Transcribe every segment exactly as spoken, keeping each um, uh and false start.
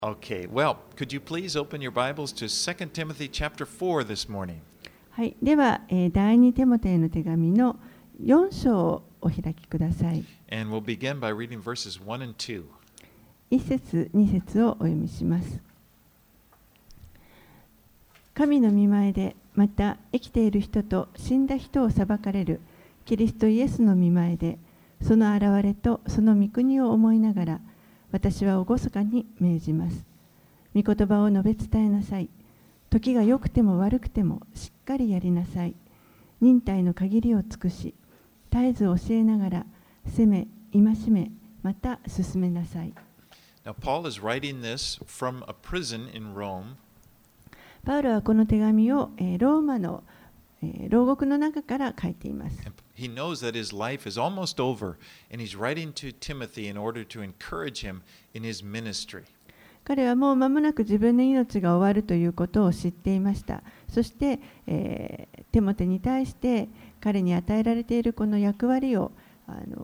Okay, well, could you please open your Bibles to Second Timothy chapter four this morning? はい、では、えー、第二テモテへの手紙のよん章をお開きください。 And we'll begin by reading verses one and two. 一節、二節をお読みします。神の御前で、また生きている人と死んだ人を裁かれるキリストイエスの御前で、その現れとその御国を思いながら、私は厳かに命じます。御言葉を述べ伝えなさい。時が良くても悪くてもしっかりやりなさい。忍耐の限りを尽くし、絶えず教えながら、責め、戒め、また進めなさい。 Now, Paul is writing this from a prison in Rome. パウロはこの手紙を、えー、ローマの、えー、牢獄の中から書いています。 He knows that his life is almost over, and he's writing to Timothy in order to encourage him in his ministry. 彼はもう間もなく自分の命が終わるということを知っていました。そして、えー、テモテに対して彼に与えられているこの役割をあの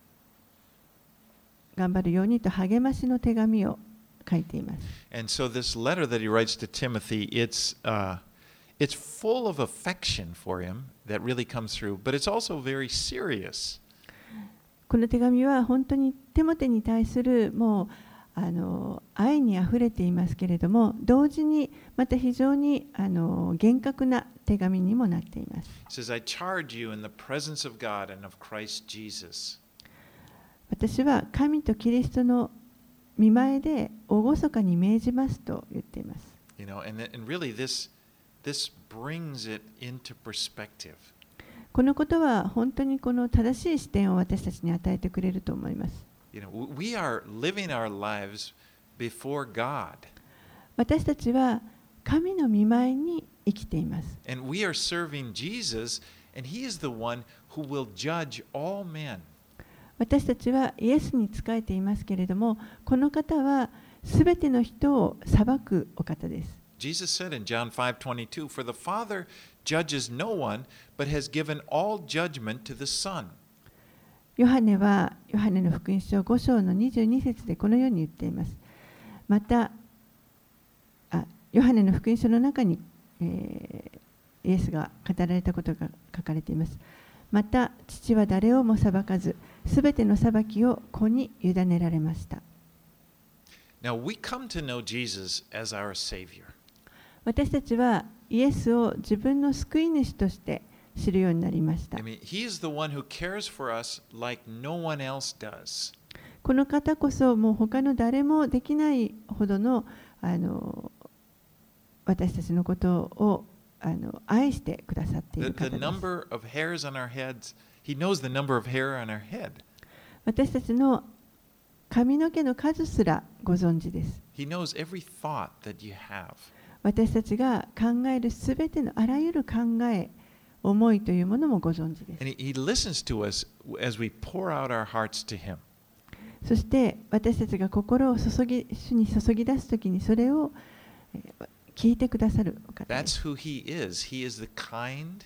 頑張るようにと励ましの手紙を書いています。 And so this letter that he writes to Timothy, it's, uh, it's full of affection for him that really comes through, but it's also very serious. この手紙は本当にテモテに対するもうあの愛にあふれていますけれども、同時にまた非常にあの厳格な手紙にもなっています。 It says, I charge you in the presence of God and of Christ Jesus. 私は神とキリストの御前で厳かに命じますと言っています。 You know, and, and really this, this brings it into perspective. このことは本当にこの正しい視点を私たちに与えてくれると思います。 You know, we are living our lives before God. 私たちは神の御前に生きています。 And we are serving Jesus, and He is the one who will judge all men. 私たちはイエスに仕えていますけれども、この方はすべての人を裁くお方です。 Jesus said in John five twenty-two, For the Father judges no one, but has given all judgment to the Son. ヨハネはヨハネの福音書ご章のにじゅうに節でこのように言っています。また、あヨハネの福音書の中に、えー、イエスが語られたことが書かれています。また、父は誰をも裁かず、すべての裁きを子に委ねられました。 Now we come to know Jesus as our Savior. 私たちはイエスを自分の救い主として知るようになりました。 I mean, He is the one who cares for us like no one else does. この方こそもう他の誰もできないほどの、あの私たちのことをあの愛してくださっている方 The, the です。 number of hairs on our heads, He knows the number of hair on our head. 私たちの髪の毛の数すらご存知です。 He knows every thought that you have. 私たちが考えるすべてのあらゆる考え、思いというものもご存知です。 And he, he listens to us as we pour out our hearts to Him. そして私たちが心を注ぎ主に注ぎ出すときにそれを聞いてくださるお方です。 That's who He is. He is the kind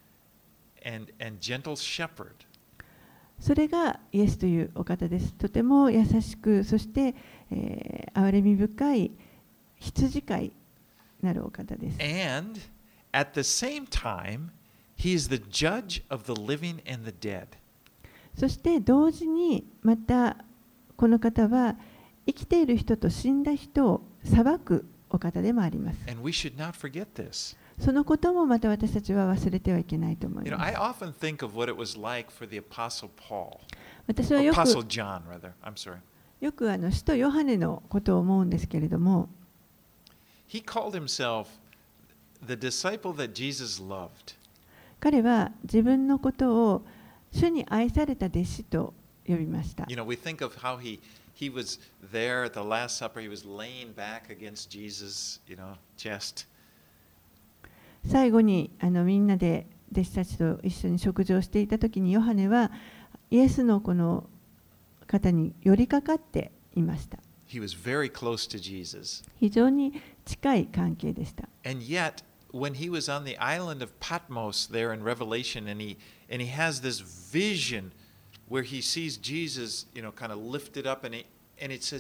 and, and gentle shepherd. それがイエスというお方です。とても優しく、そして、えー、憐れみ深い羊飼いなるお方です。 And at the same time, He is the judge of the living and the dead. そして同時にまたこの方は生きている人と死んだ人を裁くお方でもあります。 And we should not forget this. そのこともまた私たちは忘れてはいけないと思い You know, ま I す。 often think of what it was like for the Apostle Paul. 私はよ Apostle く John, rather. I'm sorry. よくあの使徒ヨハネのことを思うんですけれども、 He called himself the disciple that Jesus loved. 彼は自分のことを主に愛された弟子と呼びました。 You know, we think of how he he was there at the Last Supper. He was laying back against Jesus, you know, chest. 最後にあのみんなで弟子たちと一緒に食事をしていたときにヨハネはイエスのこの方に寄りかかっていました。 He was very close to Jesus. 非常に近い関係でした。 And yet, when he was on the island of Patmos there in Revelation, and he and he has this vision where he sees Jesus, you know, kind of lifted up, and it and it says he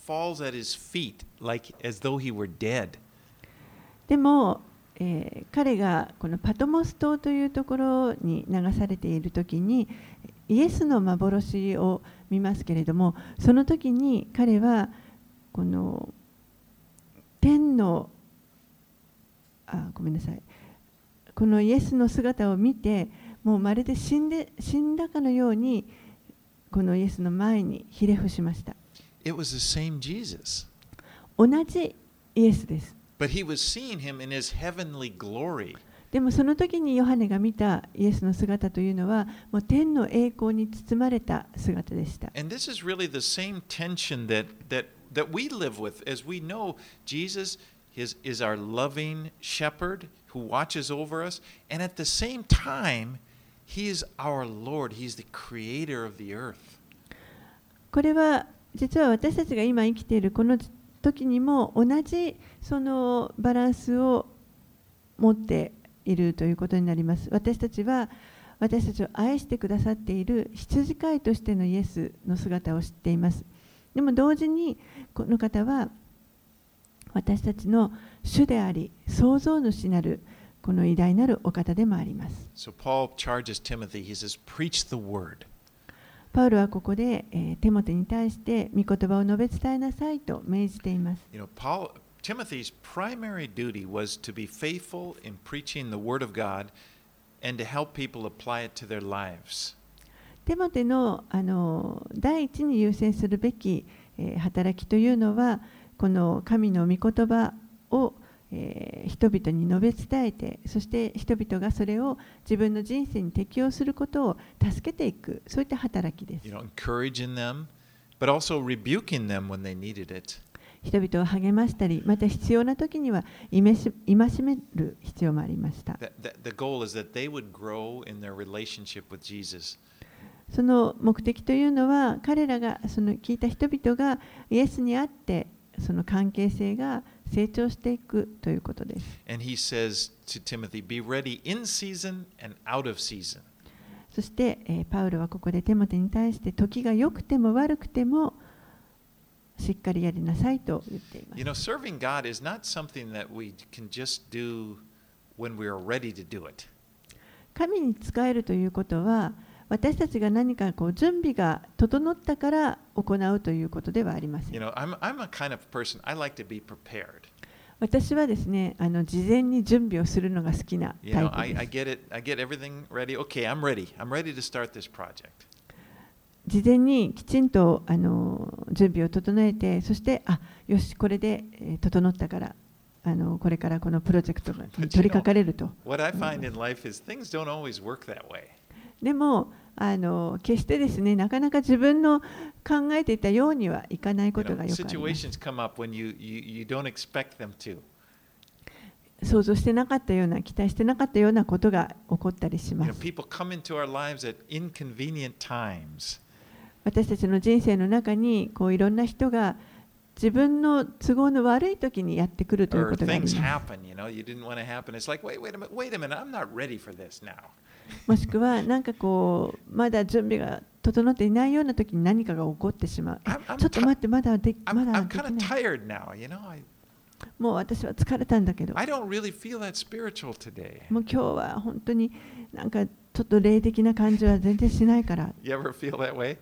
falls at his feet like as though he were dead. でも、えー彼がこのパトモス島というところに流されている時にイエスの幻を見ますけれども、その時に彼はこの天のあごめんなさいこのイエスの姿を見て、もうまるで死んで死んだかのようにこのイエスの前にひれ伏しました。 It was the same Jesus. 同じイエスです。 But he was seeing him in his heavenly glory. でもその時にヨハネが見たイエスの姿というのはもう天の栄光に包まれた姿でした。 And this is really the same tension that, that, that we live with as we know Jesus is, is our loving shepherd who watches over us. And at the same time, he is our Lord. He's the creator of the earth. これは実は私たちが今生きているこの時にも同じそのバランスを持っているということになります。私たちは私たちを愛してくださっている羊飼いとしてのイエスの姿を知っています。でも同時にこの方は私たちの主であり創造主なるこの偉大なるお方でもあります。 So Paul charges Timothy, he says, preach the word. パウロはここで、えー、テモテに対して御言葉を述べ伝えなさいと命じています。 You know, Paul, Timothy's primary duty was to be faithful in preaching the word of God and to help people apply it to their lives. テモテの、あの第一に優先するべき、えー、働きというのはこの神の御言葉を、えー、人々に述べ伝えて、そして人々がそれを自分の人生に適応することを助けていく、そういった働きです。 You know, encouraging them, but also rebuking them when they needed it. 人々を励ましたり、また必要な時には戒める必要もありました。 The, the, the goal is that they would grow in their relationship with Jesus. その目的というのは、彼らがその聞いた人々がイエスにあって、その関係性が成長していくということです。 And he says to Timothy, be ready in season and out of season. そして、えー、パウロはここでテモテに対して時が良くても悪くてもしっかりやりなさいと言っています。 You know, serving God is not something that we can just do when we are ready to do it. 神に仕えるということは、私たちが何かこう準備が整ったから行うということではありません。 You know, I'm, I'm a kind of person, I like to be prepared. 私はですね、あの事前に準備をするのが好きな You タイ know, プ I, で I す。 get it, I get everything ready. Okay, I'm ready. I'm ready to start this project. 事前にきちんとあの準備を整えて、そしてあよしこれで、えー整ったからあのこれからこのプロジェクトに取り掛かれると。 What I find in life is things don't always work that way. でもあの決してですね、なかなか自分の考えていたようにはいかない You こと know, がよくあります。 situations come up when you, you, you don't expect them to. 想像してなかったような、期待してなかったようなことが起こったりし You ま know, す。 people come into our lives at inconvenient times. 私たちの人生の中にこういろんな人が自分の都合の悪い時にやってくるという Or ことがあり things ます。 happen, you know, you didn't want to happen. It's like, wait, wait a minute, wait a minute, I'm not ready for this now. もしくはなんかこうまだ準備が整っていないような時に何かが起こってしまう。え I'm, I'm, ちょっと ti- 待って、まだで I'm, まだ I'm でき kind な of い。 tired now, you know. I, もう私は疲れたんだけど、 I don't really feel that spiritual today. もう今日は本当になんかちょっと霊的な感じは全然しないから。 You ever feel that way?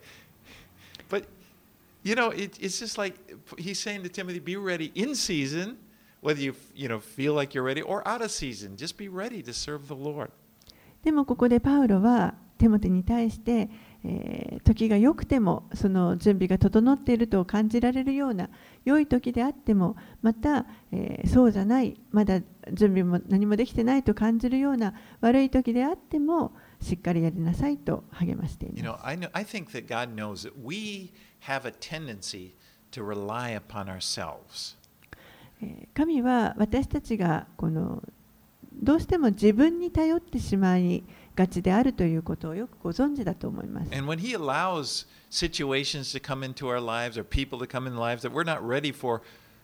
But, you know, it, it's just like he's saying to Timothy, be ready in season, whether you, you know, feel like you're ready or out of season. Just be ready to serve the Lord. でもここでパウロはテモテに対して、えー時が良くてもその準備が整っていると感じられるような良い時であっても、また、えーそうじゃない、まだ準備も何もできてないと感じるような悪い時であってもしっかりやりなさいと励ましてい You ま know, す。 I know, I think that God knows that we have a tendency to rely upon ourselves. えー神は私たちがこのどうしても自分に頼ってしまいがちであるということをよくご存知だと思います。 And when He allows situations to come into our lives or people to come in lives that we're not ready for,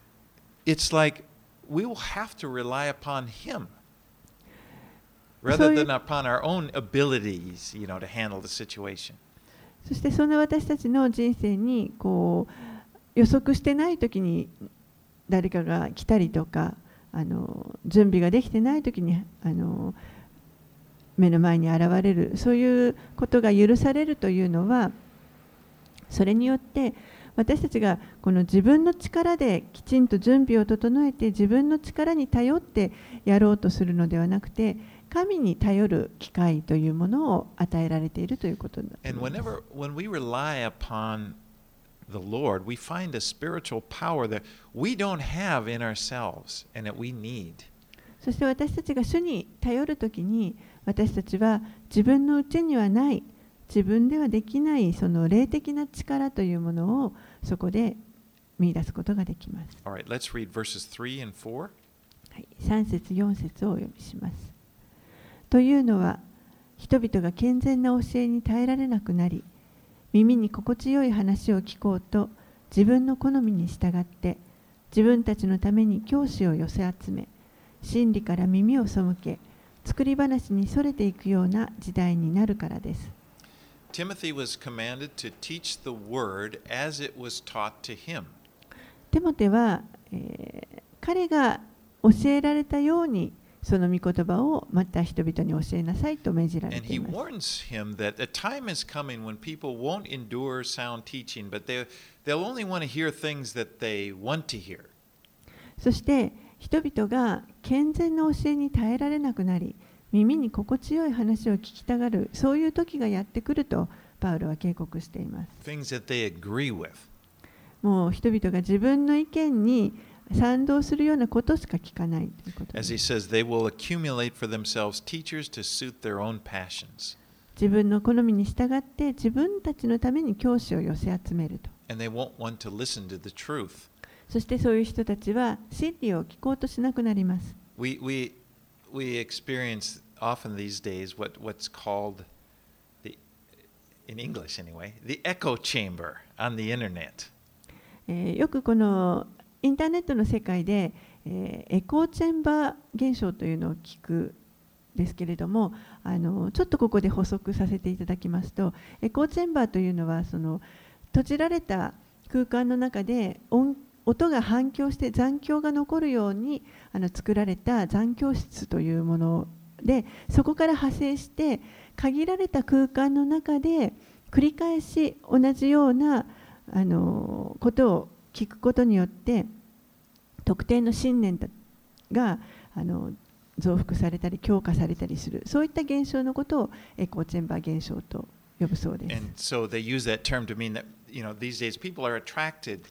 it's like we will have to rely upon Him rather So you- than upon our own abilities, you know, to handle the situation. そしてそんな私たちの人生にこう予測してない時に誰かが来たりとか、あの準備ができてない時にあの目の前に現れる、そういうことが許されるというのは、それによって私たちがこの自分の力できちんと準備を整えて自分の力に頼ってやろうとするのではなくて、神に頼る機会というものを与えられているということになります。 And whenever, when we rely upon the Lord, we find a spiritual power that we don't have in ourselves and that we need. そして私たちが主に頼るときに、私たちは自分のうちにはない、自分ではできないその霊的な力というものをそこで見出すことができます。 All right, let's read verses three and four. はい、さん節よん節をお読みします。というのは、人々が健全な教えに耐えられなくなり、耳に心地よい話を聞こうと自分の好みに従って自分たちのために教師を寄せ集め、真理から耳を背け、作り話にそれていくような時代になるからです。 Timothy was commanded to teach the word as it was taught to him. テモテは、えー、彼が教えられたようにその御言葉をまた人々に教えなさいと命じられ And てい he ます。 warns him that a time is coming when people won't endure sound teaching, but they, they'll only want to hear things that they want to hear. そして人々が健全な教えに耐えられなくなり、耳に心地よい話を聞きたがる、そういう時がやってくるとパウロは警告しています。 Things that they agree with. もう人々が自分の意見に賛同するようなことしか聞かないということで As す。 he says, they will accumulate for themselves teachers to suit their own passions. 自分の好みに従って自分たちのために教師を寄せ集めると。 And they won't want to listen to the truth. そしてそういう人たちは真理を聞こうとしなくなります。 We, we, we experience often these days what, what's called, the, in English anyway, the echo chamber on the internet. えーよくこのインターネットの世界で、えーエコーチェンバー現象というのを聞くですけれども、あのちょっとここで補足させていただきますと、エコーチェンバーというのはその閉じられた空間の中で音音が反響して残響が残るようにあの作られた残響室というもので、そこから派生して限られた空間の中で繰り返し同じようなあのことを聞くことによって特定の信念があの増幅されたり強化されたりする、そういった現象のことをエコーチェンバー現象と呼ぶそうです。 And so they use that term to mean that, you know, these days people are attracted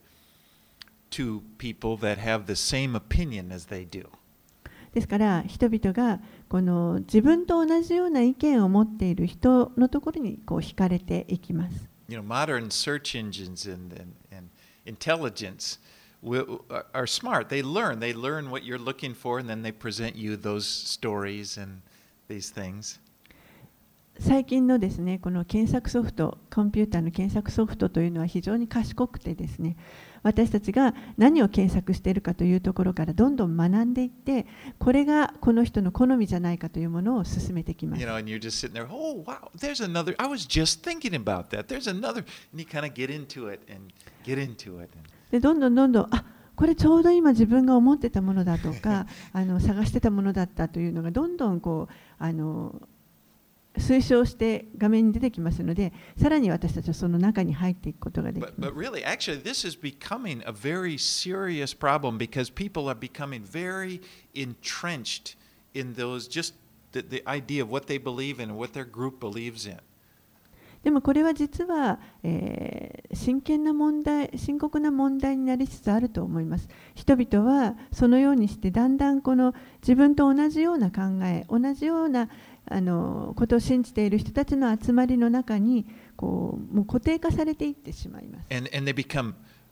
to people that have the same opinion as they do. ですから人々がこの自分と同じような意見を持っている人のところにこう惹かれていきます。 You know, modern search engines and, and, and intelligence will, are smart. They learn. They learn what you're looking for, and then they present you those stories and these things. 最近のですね、この検索ソフト、コンピューターの検索ソフトというのは非常に賢くてですね、私たちが何を検索しているかというところからどんどん学んでいって、これがこの人の好みじゃないかというものを進めてきます。 You know, and you're just sitting there, oh, wow, there's another, I was just thinking about that. There's another, and you kind of get into it and get into it. で、どんどんどんどん、あ、これちょうど今自分が思ってたものだとか、あの探してたものだったというのがどんどんこうあの推奨して画面に出てきますので、さらに私たちはその中に入っていくことができます。 But, but really, actually, this is becoming a very serious problem because people are becoming very entrenched in those, just the, the idea of what they believe in and what their group believes in. でもこれは実は、えー、真剣な問題、深刻な問題になりつつあると思います。人々はそのようにしてだんだんこの自分と同じような考え、同じようなあのことを信じている人たちの集まりの中にこうもう固定化されていってしまいます。 And, and they become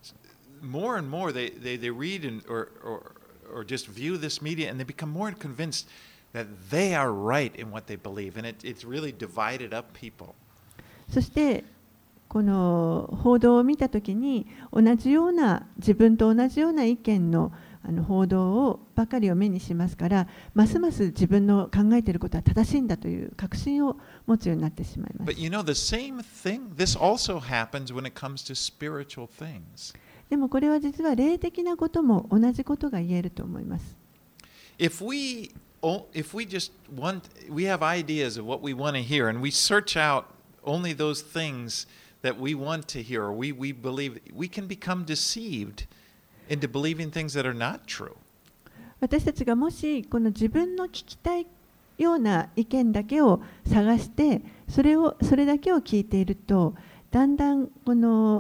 more and more, they, they, they read and, or, or, or just view this media and they become more convinced that they are right in what they believe. And it, it's really divided up people. そしてこの報道を見たときに同じような自分と同じような意見のあの報道をばかりを目にしますから、ますます自分の考えていることは正しいんだという確信を持つようになってしまいます。 But you know, the same thing, this also happens when it comes to spiritual things. でもこれは実は霊的なことも同じことが言えると思います。 If we if we just want we have ideas of what we want to hear and we search out only those things that we want to hear or we we believe, we can become deceived into believing things that are not true. 私たちがもしこの自分の聞きたいような意見だけを探してそれをそれだけを聞いているとだんだんこの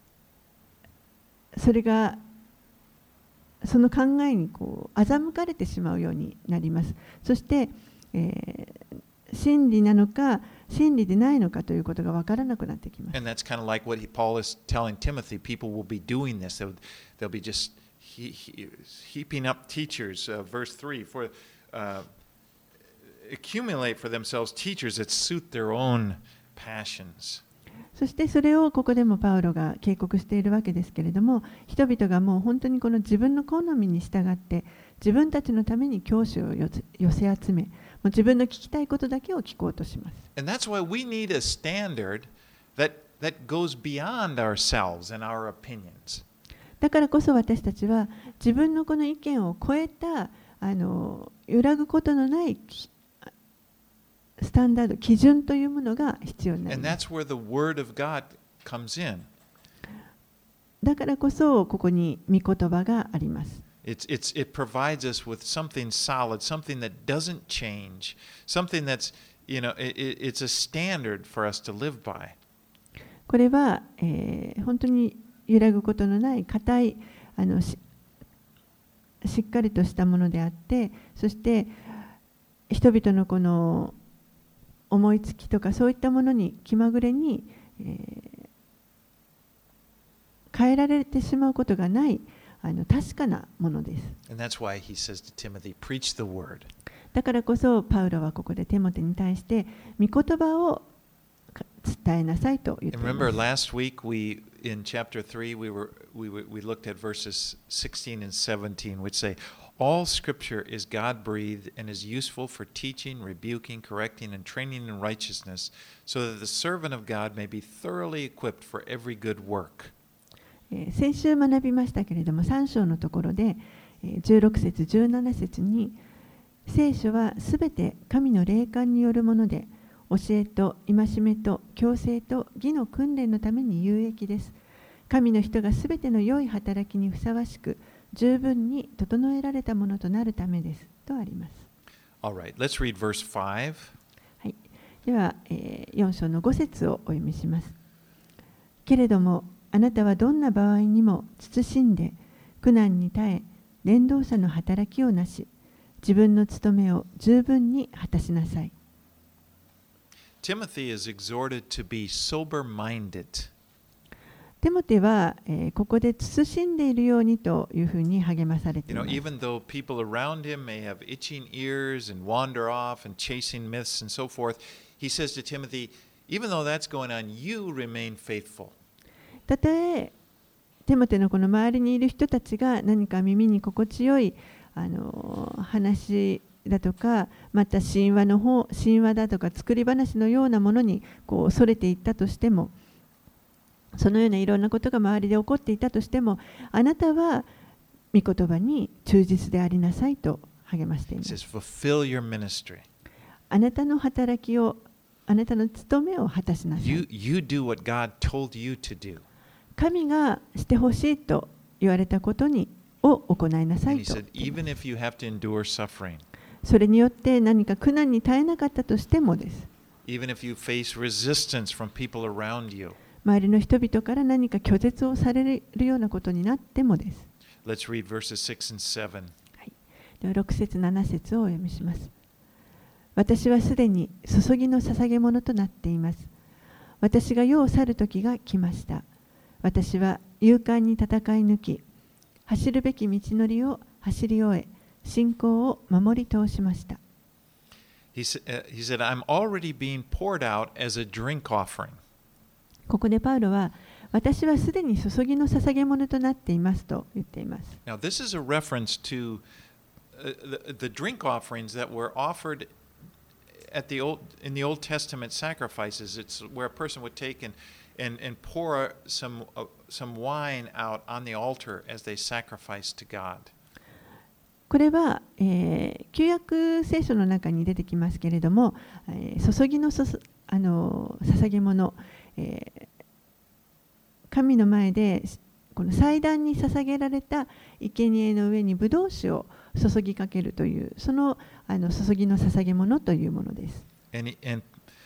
それがその考えにこう欺かれてしまうようになります。そして、えー、真理なのか真理でないのかということが分からなくなってきます。 And that's kind of like what he, Paul is telling Timothy. People will be doing this. They'll, they'll be just he, he, heaping up teachers. Uh, verse three, for uh, accumulate for themselves teachers that suit their own passions. そしてそれをここでもパウロが警告しているわけですけれども、人々がもう本当にこの自分の好みに従って自分たちのために教師を寄せ集め、もう自分の聞きたいことだけを聞こうとします。 And that's why we need a standard that that goes beyond ourselves and our opinions. だからこそ私たちは自分のこの意見を超えたあの揺らぐことのないスタンダード、基準というものが必要になります。だからこそここに御言葉があります。 It's, it's, it provides us with something solid, something that doesn't change, something that's, you know, it, it's a standard for us to live by. これは、えー、本当に揺らぐことのない固いあの し, しっかりとしたものであって、そして人々のこの思いつきとかそういったものに気まぐれに、えー、変えられてしまうことがないあの確かなものです。 And that's why he says to Timothy, preach the word. だからこそパウロはここでテモテに対して御言葉を伝えなさいと言っています。 And remember last week we in chapter three we were we we looked at verses sixteen and seventeen which say all scripture is God-breathed and is useful for teaching, rebuking, correcting, and training in righteousness, so that the servant of God may be thoroughly equipped for every good work. 先週学びましたけれども、さん章のところでじゅうろく節、じゅうなな節に、聖書はすべて神の霊感によるもので、教えと戒めと矯正と義の訓練のために有益です。神の人がすべての良い働きにふさわしく、十分に整えられたものとなるためですとあります。 All right, let's read verse five. はい、では、えー、よん章のご節をお読みします。けれどもあなたはどんな場合にも慎んで苦難に耐え伝道者の働きをなし、自分の務めを十分に果たしなさい。 Timothy is exhorted to be sober-minded. テモテは、えー、ここで慎んでいるようにというふうに励まされています。 You know, even though people around him may have itching ears and wander off and chasing myths and so forth, he says to Timothy, even though that's going on, you remain faithful. たとえテモテのこの周りにいる人たちが何か耳に心地よいあの話だとか、また神話の方、神話だとか作り話のようなものにこう恐れていったとしても、そのようないろんなことが周りで起こっていたとしても、あなたは御言葉に忠実でありなさいと励ましています。 Fulfill your ministry. あなたの働きを、あなたの務めを果たしなさい。 You, you do what God told you to do. 神がしてほしいと言われたことにを行いなさいと。 And he said, even if you have to endure suffering. それによって何か苦難に耐えなかったとしてもです。 Even if you face resistance from people around you. 周りの人々から何か拒絶をされるようなことになってもです。 Let's read verses six and seven. はい、ではろく節なな節をお読みします。私はすでに注ぎの捧げ物となっています。私が世を去る時が来ました。私は勇敢に戦い抜き、走るべき道のりを走り終え、信仰を守り通しました。 He said, I'm already being poured out as a drink offering. ここでパウロは、私はすでに注ぎの捧げ物となっていますと言っています。 Now, this is a reference to the, the drink offerings that were offered at the old, in the Old Testament sacrifices. It's where a person would take and, and, and pour some, uh, some wine out on the altar as they sacrifice to God. これは、えー、旧約聖書の中に出てきますけれども、えー、注ぎのそすあの捧げ物、えー、神の前でこの祭壇に捧げられた生贄の上にブドウ酒を注ぎかけるというその、あの注ぎの捧げ物というものです。 And, and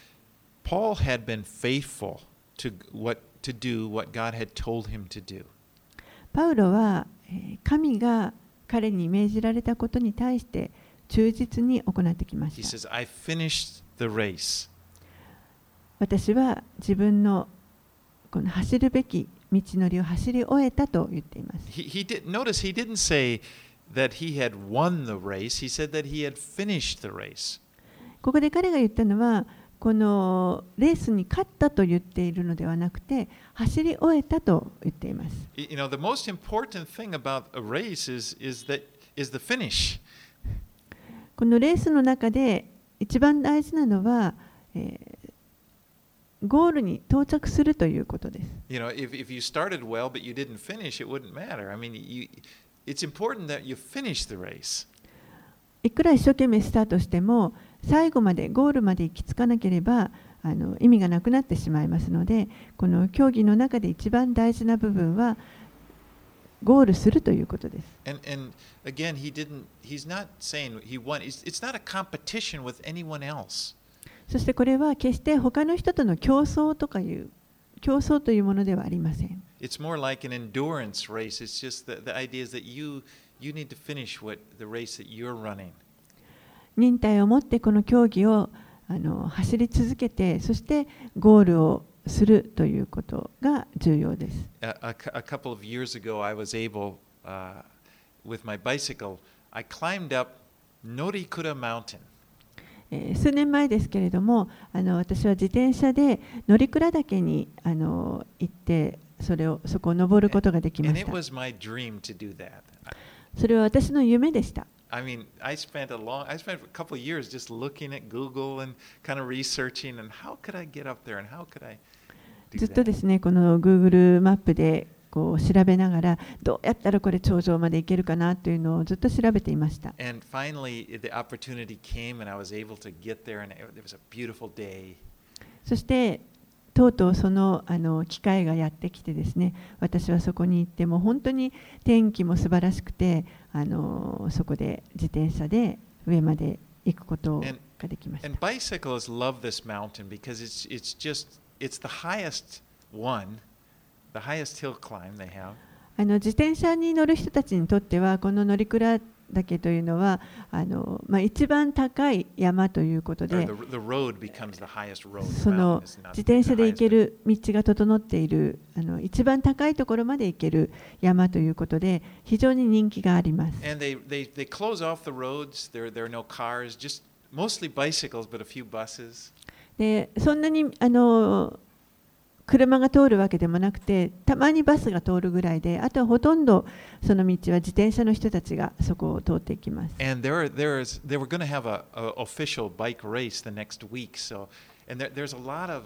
Paul had been faithful to, what, to do what God had told him to do. パウロは、えー、神が彼に命じられたことに対して忠実に行ってきました。 He says, I finished the race. 私は自分のこの走るべき道のりを走り終えたと言っています。 He, he did, notice he didn't say that he had won the race. He said that he had finished the race. ここで彼が言ったのは、このレースに勝ったと言っているのではなくて、走り終えたと言っています。 You know, the most important thing about a race is, is, that, is the finish. このレースの中で一番大事なのは、えー、ゴールに到着するということです。 You know, if, if you started well but you didn't finish, it wouldn't matter. I mean, you, it's important that you finish the race. いくら一生懸命スタートしても、最後までゴールまで行き着かなければあの意味がなくなってしまいますので、この競技の中で一番大事な部分はゴールするということです。 And, and again, he didn't, he's not saying he won. It's, it's not a competition with anyone else. そしてこれは決して他の人との競争とかいう競争というものではありません。 It's more like an endurance race. It's just the, the idea is that you, you need to finish what, the race that you're running. 忍耐を持ってこの競技をあの走り続けて、そしてゴールをするということが重要です。 A, a, a couple of years ago, I was able, uh, with my bicycle, I climbed up Norikura Mountain. えー、数年前ですけれども、あの私は自転車で乗鞍岳にあの行って、それをそこを登ることができま And し it た。 was my dream to do that. それは私の夢でした。 I mean, I spent a long, I spent a couple of years just looking at Google and kind of researching and how could I get up there and how could I do ずっと that. ですね、この Google マップでこう調べながら、どうやったらこれ頂上まで行けるかなというのをずっと調べていました。 And finally, the opportunity came and I was able to get there and it was a beautiful day. そしてとうとうその、あの機会がやってきてですね、私はそこに行っても本当に天気も素晴らしくて、あのそこで自転車で上まで行くことができました。 And bicyclists love this mountain because it's, it's just, it's the highest one, the highest hill climb they have. あの自転車に乗る人たちにとっては、この乗鞍岳というのはあの、まあ、一番高い山ということで、 The, the road becomes the highest road. その自転車で行ける道が整っているあの一番高いところまで行ける山ということで、非常に人気があります。 And they, they, they close off the roads. There, there are no cars, just mostly bicycles, but a few buses. でそんなにあの車が通るわけでもなくて、たまにバスが通るぐらいで、あとはほとんどその道は自転車の人たちがそこを通っていきます。 And there, there is, they were going to have a, a official bike race the next week. So, and there, there's a lot of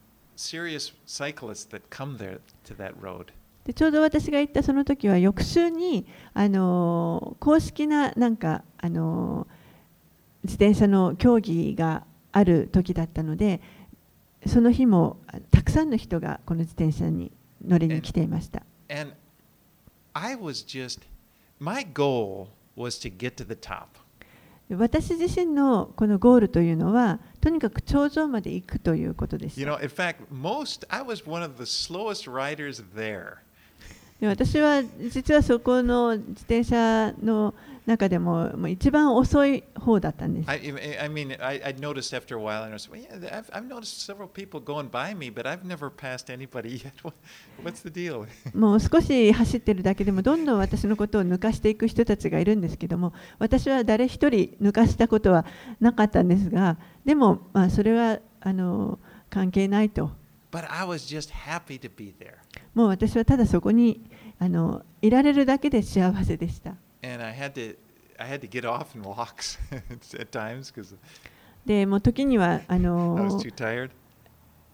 serious cyclists that come there to that road. でちょうど私が行ったその時は翌週にあの公式ななんかあの自転車の競技がある時だったので、その日もたくさんの人がこの自転車に乗りに来ていました。 And I was just, my goal was to get to the top. 私自身のこのゴールというのは、とにかく頂上まで行くということでし You た。 know, in fact, most, I was one of the slowest riders there. で私は実はそこの自転車の中でももう一番遅い方だったんです。 I, I mean, I, I noticed after a while, and I was, well, yeah, I've, I've noticed several people going by me, but I've never passed anybody yet. What, what's the deal? もう少し走ってるだけでもどんどん私のことを抜かしていく人たちがいるんですけども、私は誰一人抜かしたことはなかったんですが、でも、まあ、それはあの関係ないと。 But I was just happy to be there. もう私はただそこにあのいられるだけで幸せでした。 And I had to, I had to get off and walk at times because でもう時にはあ I was の too tired.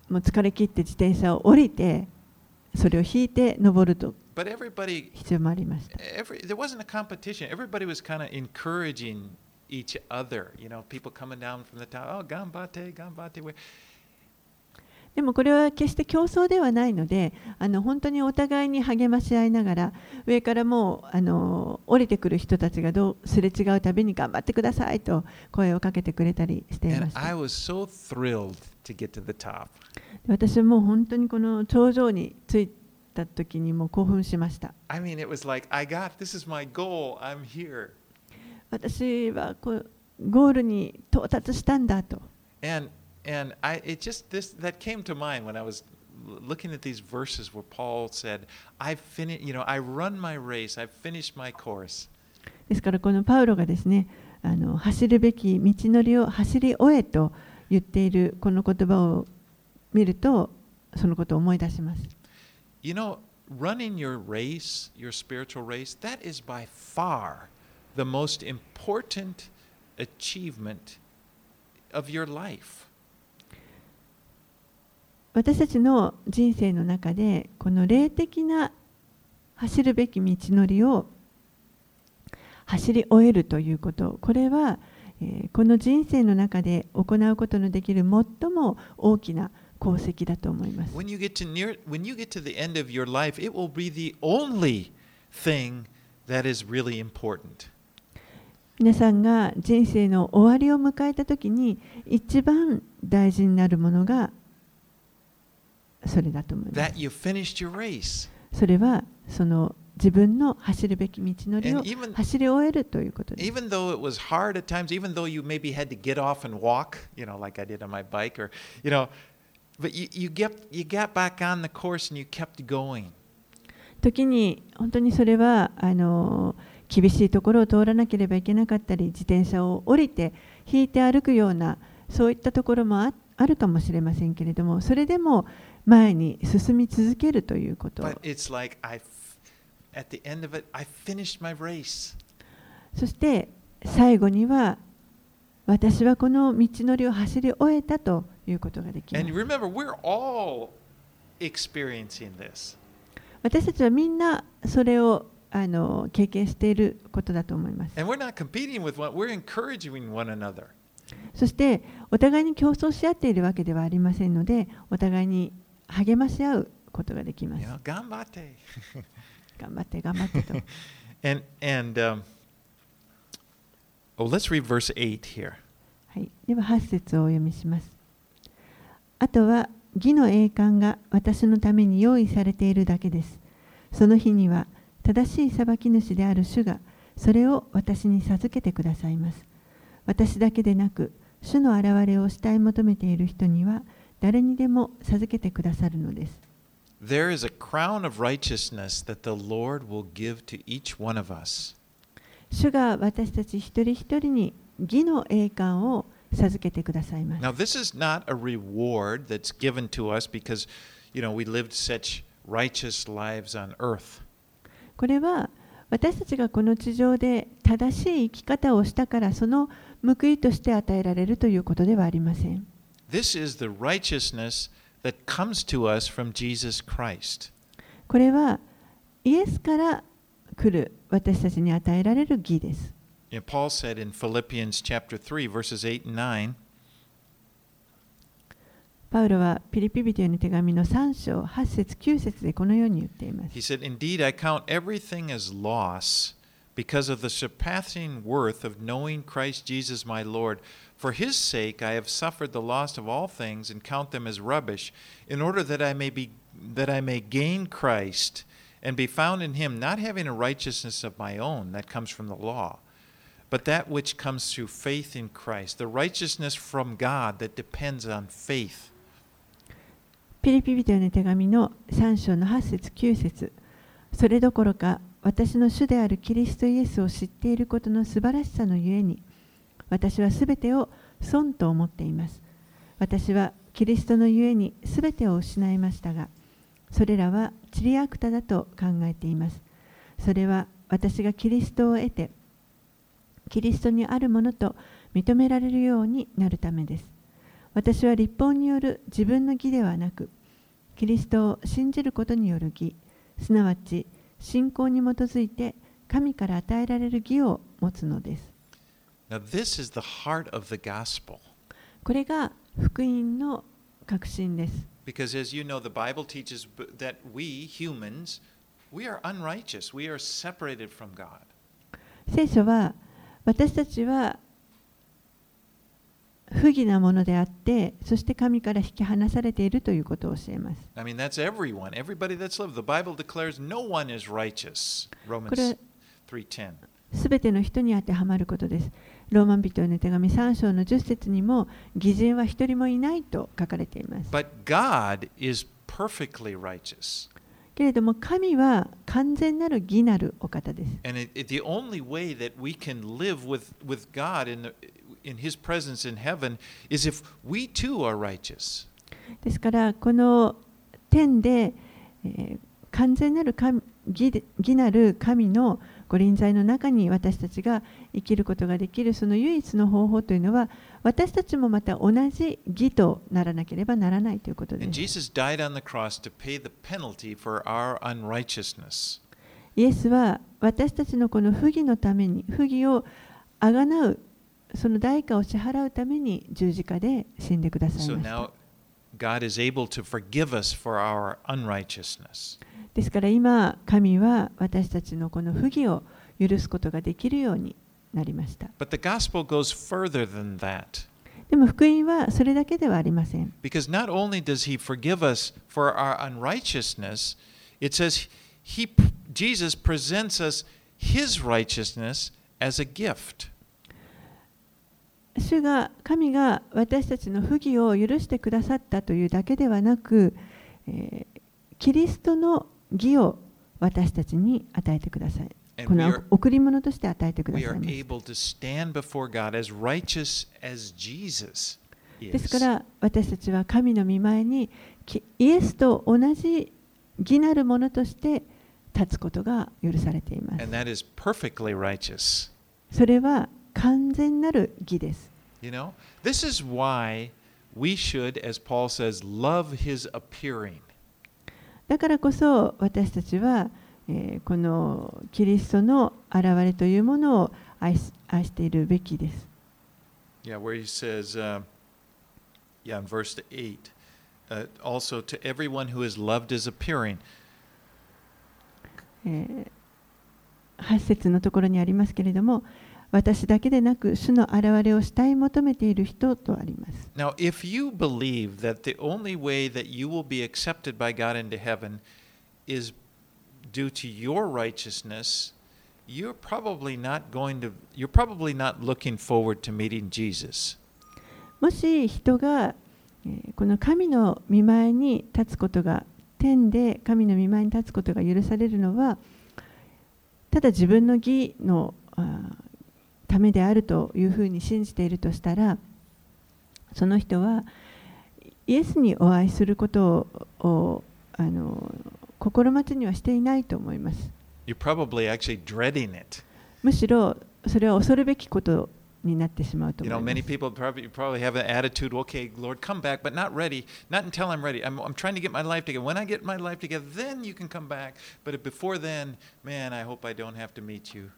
もう疲れ切って自転車を降りてそれを引いて登ると But everybody, 必要もありました。 every, there wasn't a competition. Everybody was kind of encouraging each other. You know, people coming down from the top. Oh, ganbate, ganbate. でもこれは決して競争ではないので、あの本当にお互いに励まし合いながら、上からもうあの降りてくる人たちがどうすれ違うたびに頑張ってくださいと声をかけてくれたりしていました。 And I was so thrilled to get to the top. 私はもう本当にこの頂上に着いた時にもう興奮しました。 I mean, it was like, I got, this is my goal. I'm here. 私はこうゴールに到達したんだと。 And And I, it just this that came to mind when I was looking at these verses where Paul said, "I've finished. You know, I run my race. I've finished my course." ですからこのパウロがですね、あの走るべき道のりを走り終えと言っているこの言葉を見ると、そのことを思い出します。 You know, running your race, your spiritual race, that is by far the most important achievement of your life. 私たちの人生の中でこの霊的な走るべき道のりを走り終えるということ、これは、えー、この人生の中で行うことのできる最も大きな功績だと思います。 When you get to near, when you get to the end of your life, it will be the only thing that is really important. 皆さんが人生の終わりを迎えたときに一番大事になるものがそれだと思います。 That you finished your race. それはその自分の走るべき道のりを And even- 走り終えるということです。 Even though it was hard at times, even though you maybe had to get off and walk, you know, like I did on my bike, or you know, but you, you get you got back on the course and you kept going. 時に本当にそれはあの厳しいところを通らなければいけなかったり、自転車を降りて引いて歩くようなそういったところも あ, あるかもしれませんけれども、それでも前に進み続けるということ。 But it's like I, at the end of it, I finished my race. そして最後には私はこの道のりを走り終えたということができます。 And remember, we're all experiencing this. 私たちはみんなそれをあの経験していることだと思います。 And we're not competing with one, we're encouraging one another. そしてお互いに競争し合っているわけではありませんので、お互いに励まし合うことができます。 You know, ganbate. 頑張って頑張ってと。 and and um, oh, let's read verse eight here. はい、でははち節をお読みします。あとは義の栄冠が私のために用意されているだけです。その日には正しい裁き主である主がそれを私に授けてくださいます。私だけでなく、主の現れを慕い求めている人には誰にでも授けてくださるのです。 There is a crown of righteousness that the Lord will give to each one of us. 主が私たち一人一人に義の栄冠を授けてくださいます。 Now, this is not a reward that's given to us because, you know, we lived such righteous lives on earth. これは私たちがこの地上で正しい生き方をしたからその報いとして与えられるということではありません。 This is the righteousness that comes to us from Jesus Christ. これはイエスから来る私たちに与えられる義です。 You know, Paul said in Philippians chapter three, verses eight and nine, パウロはピリピ人への手紙のさん章はち節きゅう節でこのように言っています。 he said, Indeed, I count everything as loss because of the surpassing worth of knowing Christ Jesus my Lord. For his sake I have suffered the loss of all things and count them as rubbish, in order that I may be that I may gain Christ and be found in him, not having a righteousness of my own that comes from the law, but that which comes through faith in Christ, the righteousness from God that depends on faith. ピリピ人への手紙のさん章のはち節きゅう節、それどころか私の主であるキリストイエスを知っていることの素晴らしさのゆえに、私はすべてを損と思っています。私はキリストのゆえにすべてを失いましたが、それらはチリアクタだと考えています。それは私がキリストを得て、キリストにあるものと認められるようになるためです。 私は律法による自分の義ではなく、キリストを信じることによる義、すなわち信仰に基づいて神から与えられる義を持つのです。 Now, this is the heart of the gospel. これが福音の核心です。 Because as you know, the Bible teaches that we humans, we are unrighteous. We are separated from God. 聖書は私たちは不義なものであって、そして神から引き離されているということを教えます。 I mean, that's everyone. Everybody that's lived. The Bible declares no one is righteous. Romans three ten. すべての人に当てはまることです。ローマ人への手紙さん章のじゅっ節にも、義人は一人もいないと書かれています。 But God is perfectly righteous. けれども神は完全なる義なるお方です。 And it, it, the only way that we can live with, with God in, the, in His presence in heaven is if we too are righteous. ですからこの天で、えー、完全なる神 義, 義なる神のご臨在の中に私たちが生きることができるその唯一の方法というのは、私たちもまた同じ義とならなければならないということです。 And Jesus died on the cross to pay the penalty for our unrighteousness. イエスは私たちのこの不義のために、不義をあがなうその代価を支払うために十字架で死んでくださいました。 So now God is able to forgive us for our unrighteousness. ですから今、神は私たちのこの不義を許すことができるようになりました。 But the gospel goes further than that. でも福音はそれだけではありません。 Because not only does He forgive us for our unrighteousness, it says he, Jesus presents us His righteousness as a gift. 主が、神が私たちの不義を許してくださったというだけではなく、えー、キリストの義を私たちに与えてください。この贈り物として与えてくださいます。ですから私たちは神の御前にイエスと同じ義なるものとして立つことが許されています。それは完全なる義です。 You know, this is why we should, as Paul says, love his appearing. だからこそ私たちは、えー、このキリストの現れというものを愛し、愛しているべきです。 Yeah, where he says, uh, yeah, in verse eight, uh, also to everyone who is loved is appearing. えー、はち節のところにありますけれども、私だけでなく主の現れを慕い求めている人とあります。 Now, if you believe that the only way that you will be accepted by God into heaven is due to your righteousness, you're probably not going to, you're probably not looking forward to meeting Jesus. もし人がこの神の御前に立つことが、天で神の御前に立つことが許されるのは、ただ自分の義のためであるというふうに信じているとしたら、その人はイエスにお会いすることを、をあの心待ちにはしていないと思います。 You're probably actually dreading it. むしろそれは恐るべきことになってしまうと思います。 You know, many people probably, probably have an attitude, okay, Lord, come back, but not ready, not until I'm ready. I'm, I'm trying to get my life together. When I get my life together, then you can come back. But before then, man, I hope I don't have to meet you.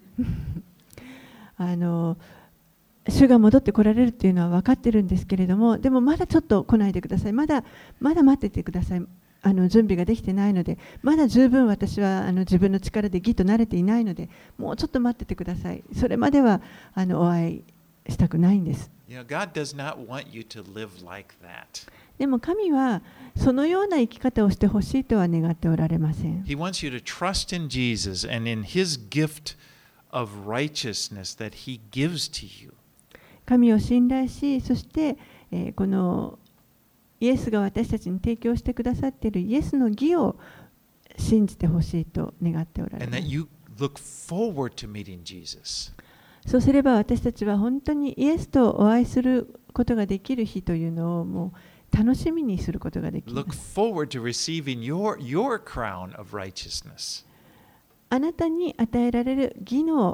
あの主が戻ってこられるっていうのは分かってるんですけれども、でもまだちょっと来ないでください。まだまだ待っててください。あの準備ができてないので、まだ十分私はあの自分の力で義と慣れていないので、もうちょっと待っててください。それまではあのお会いしたくないんです。 You know, God does not want you to live like that. でも神はそのような生き方をしてほしいとは願っておられません。 He wants you to trust in Jesus and in His gift of righteousness that He gives to you. 神を信頼し、そして、えー、このイエスが私たちに提供してくださっているイエスの義を信じてほしいと願っておられます。 And that you look forward to meeting Jesus. そうすれば私たちは本当にイエスとお会いすることができる日というのをもう楽しみにすることができます。 Look forward to receiving your, your crown of righteousness. あなたに与えられる義の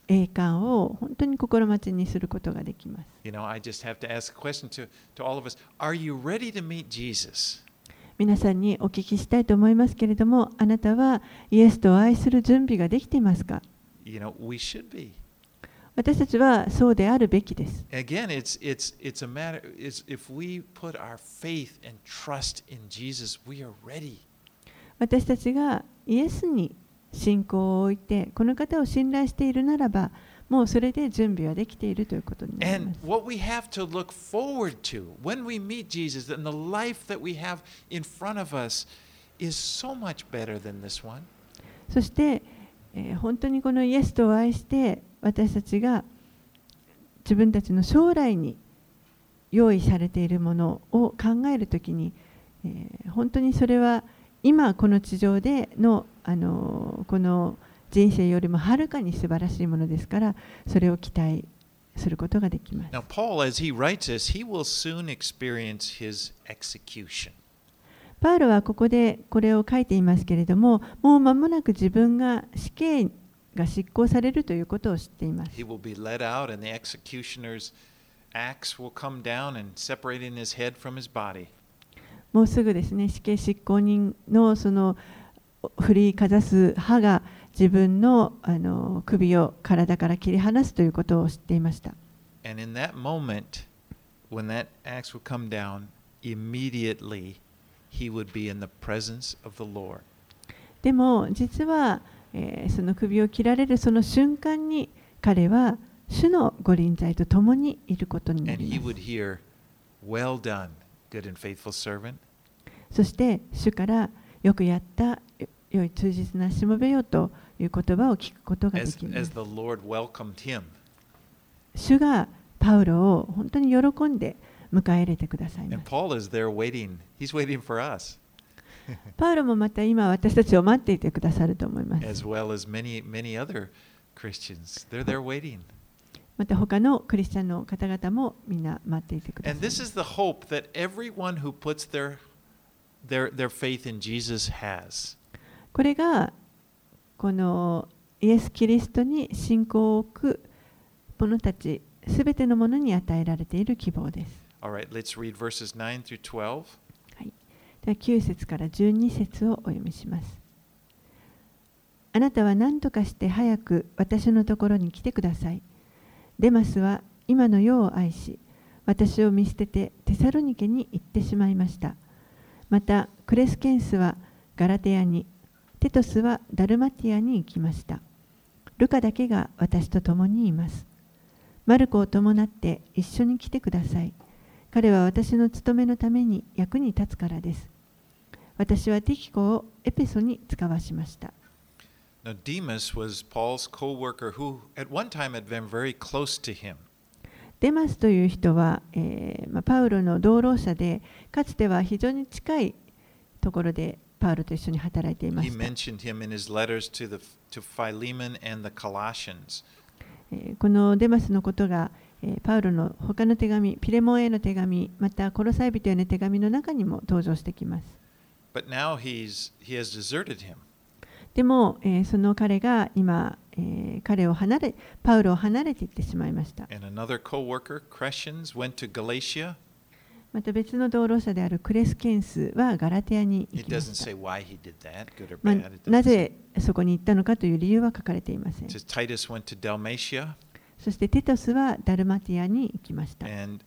栄冠を本当に心待ちにすることができます。 You know, I just have to ask a question to, to all of us. Are you ready to meet Jesus? 皆さんにお聞きしたいと思いますけれども、あなたはイエスと愛する準備ができていますか？ You know, we should be. 私たちはそうであるべきです。 Again, it's, it's, it's a matter, it's, if we put our faith and trust in Jesus, we are ready. 私たちがイエスに信仰を置いて、この方を信頼しているならば、もうそれで準備はできているということになりま And す。 what we have to look forward to when we meet Jesus and the life that we have in front of us is so much better than this one. そして、えー本当にこのイエスと愛して、私たちが自分たちの将来に用意されているものを考えるときに、えー本当にそれは今この地上での、あのーこの人生よりもはるかに素晴らしいものですから、それを期待することができます。 Now, Paul, as he writes this, he will soon experience his execution. パウロはここでこれを書いていますけれども、もう間もなく自分が死刑が執行されるということを知っています。 He will be led out, and the executioner's axe will come down and separating his head from his body. もうすぐですね、死刑執行人のその振りかざす刃が自分の、あの首を体から切り離すということを知っていました。 And in that moment, when that axe would come down, immediately he would be in the presence of the Lord. でも実は、えーその首を切られるその瞬間に彼は主の御臨在と共にいることにな And り he ま would す。 hear, "Well done, good and faithful servant." そして主からよくやったよ良い忠実なしもべよという言葉を聞くことがで As, きま as す。 the Lord welcomed him. 主がパウロを本当に喜んで迎え入れてください And ます。 Paul is there waiting. He's waiting for us, パウロもまた今私たちを待っていてくださると思います。 as well as many, many other Christians. They're there waiting. また他のクリスチャンの方々もみんな待っていてくださ And い this is the hope that everyone who puts their, their, their faith in Jesus has. これがこのイエス・キリストに信仰を置く者たちすべてのものに与えられている希望です。 All right, let's read verses nine through twelve. はい、ではきゅう節からじゅうに節をお読みします。あなたは何とかして早く私のところに来てください。デマスは今の世を愛し、私を見捨ててテサロニケに行ってしまいました。また、クレスケンスはガラテアに、テトスはダルマティアに行きました。ルカだけが私と共にいます。マルコを伴って一緒に来てください。彼は私の務めのために役に立つからです。私はティキコをエペソに使わしました。 Now, Demas was Paul's co-worker who at one time had been very close to him. デマスという人は、えーまあ、パウロの同労者で、かつては非常に近いところでパウロと一緒に働いていま He した。 mentioned him in his letters to, the, to Philemon and the Colossians. えーこのデマスのことが、えーパウロの他の手紙、ピレモンへの手紙、またコロサイ人への手紙の中にも登場してきます。 But now he's, he has deserted him. でも、えーその彼が今、えー彼を離れ、パウロを離れていってしまいました。 And another co-worker, Crescens, went to Galatia. また別の同労者であるクレスケンスはガラテアに行 It きま doesn't した。 say why he did that, good or まあ bad. It な doesn't say. ぜそこに行ったのかという理由は書かれていません It。says Titus went to Dalmatia. そしてテトスはダルマティアに行きました。 And,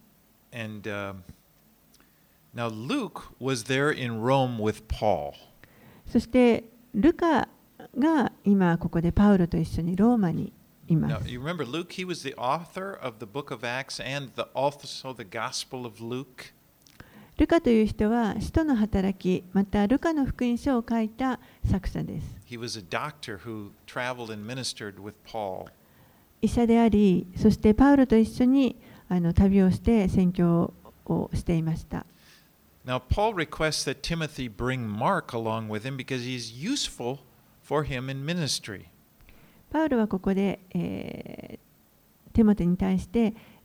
and um, now Luke was there in Rome with Paul. そしてルカが今ここでパウロと一緒にローマにいま Now, す。 you remember Luke, he was the author of the book of Acts and the, also the Gospel of Luke. ルカという人は使徒の働き、またルカの福音書を書いた作者です。 He was a doctor who traveled and ministered with Paul. 医者であり、そしてパウロと一緒にあの旅をして宣教をしていました。 Now, Paul requests that Timothy bring Mark along with him because he's useful for him in ministry. パウロはここで、えーテモテに対して、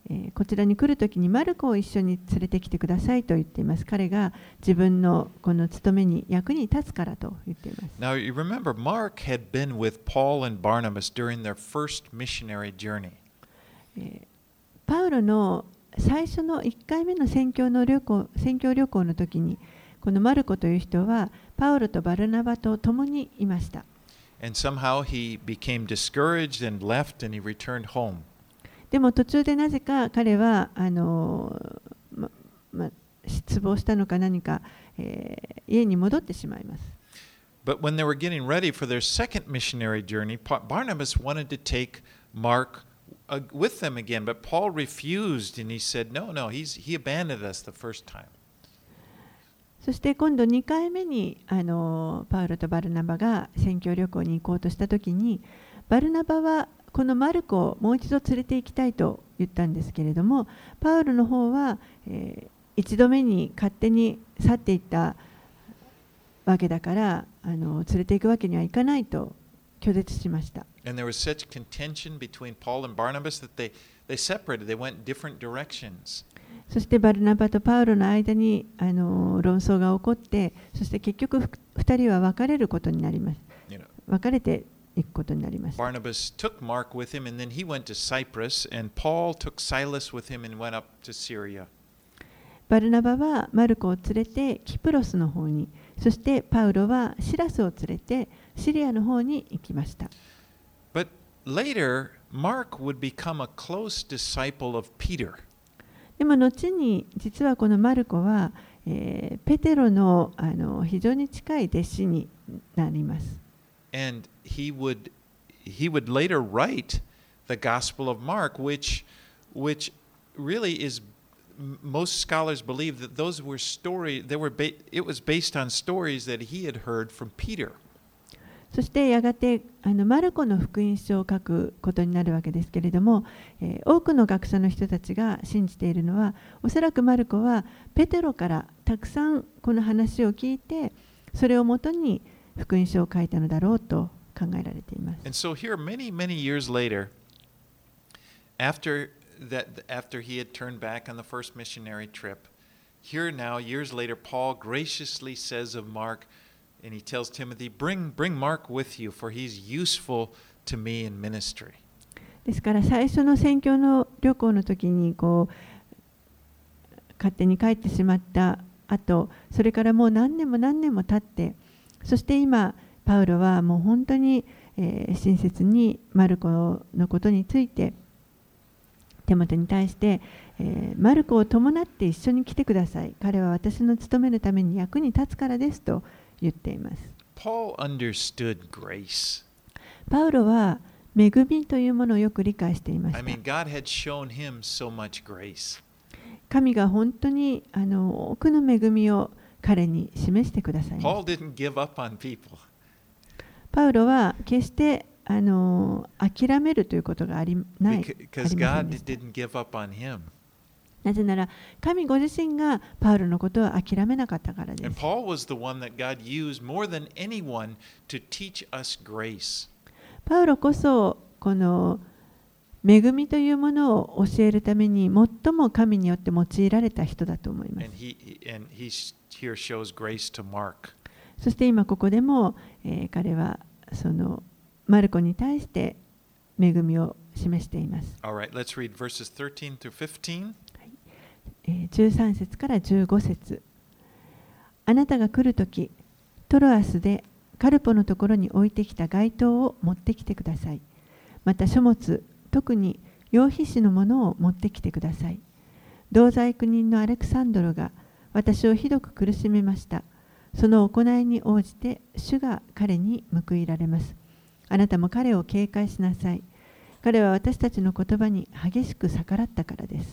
えーこちらに来るときにマルコを一緒に連れてきてくださいと言っています。彼が自分のこの務めに役に立つからと言っています。 Now, you remember, Mark had been with Paul and Barnabas during their first missionary journey. えーパウロの最初のいっかいめの宣教の旅行、宣教旅行の時に、このマルコという人はパウロとバルナバと共にいました。 And somehow he became discouraged and left and he returned home. でも途中でなぜか彼はあの、まま、失望したのか何か、えー家に戻ってしまいます。 But when they were getting ready for their second missionary journey, Pa- Barnabas wanted to take Mark uh, with them again, but Paul refused and he said, No, no, he's, he abandoned us the first time. そして今度にかいめにあのパウロとバルナバが宣教旅行に行こうとしたときに、バルナバはこのマルコをもう一度連れて行きたいと言ったんですけれども、パウロの方は、えー一度目に勝手に去っていったわけだからあの連れて行くわけにはいかないと拒絶しました。 And there was such contention between Paul and Barnabas that they, they separated, they went different directions. そしてバルナバとパウロの間にあの論争が起こって、そして結局ふたりは別れることになります。 You know, 別れていくことになりました。 Barnabas took Mark with him and then he went to Cyprus, and Paul took Silas with him and went up to Syria. バルナバはマルコを連れてキプロスの方に、そしてパウロはシラスを連れてシリアの方に行きました。 But later, Mark would become a close disciple of Peter. でも後に実はこのマルコは、えーペテロの、あの非常に近い弟子になります。 And he would, he would later write the Gospel of Mark, which, which really is most scholars believe that those were stories, they were ba- it was based on stories that he had heard from Peter. そしてやがてあのマルコの福音書を書くことになるわけですけれども、えー多くの学者の人たちが信じているのは、おそらくマルコはペテロからたくさんこの話を聞いて、それをもとに福音書を書いたのだろうと考えられています。 And so here, many, many years later, after that, after he had turned back on the first missionary trip, here now, years later, Paul graciously says of Mark, and he tells Timothy, bring, bring Mark with you, for he's useful to me in ministry. ですから最初の宣教の旅行の時にこう勝手に帰ってしまった後、それからもう何年も何年も経って、そして今パウロはもう本当に、えー親切にマルコのことについてテモテに対して、えーマルコを伴って一緒に来てください。彼は私の務めるために役に立つからですと言っています。 Paul understood grace. パウロは恵みというものをよく理解していまし I た。 mean, God had shown him so much grace. 神が本当にあの多くの恵みを彼に示してくださいました。 Paul didn't give up on people. パウロは決してあの諦めるということがありない。 Because ありません God でした didn't give up on him. なぜなら神ご自身がパウロのことを諦めなかったからで And す。 Paul was the one that God used more than anyone to teach us grace. パウロこそこの恵みというものを教えるために最も神によって用いられた人だと思います。 And he and he here shows grace to Mark. そして今ここでも、えー彼はそのマルコに対して恵みを示しています。 All right, let's read verses thirteen through fifteen. えーじゅうさん節からじゅうご節。あなたが来るとき、トロアスでカルポのところに置いてきた街灯を持ってきてください。また書物、特に羊皮紙のものを持ってきてください。同罪苦人のアレクサンドロが私をひどく苦しめました。その行いに応じて主が彼に報いられます。あなたも彼を警戒しなさい。彼は私たちの言葉に激しく逆らったからです。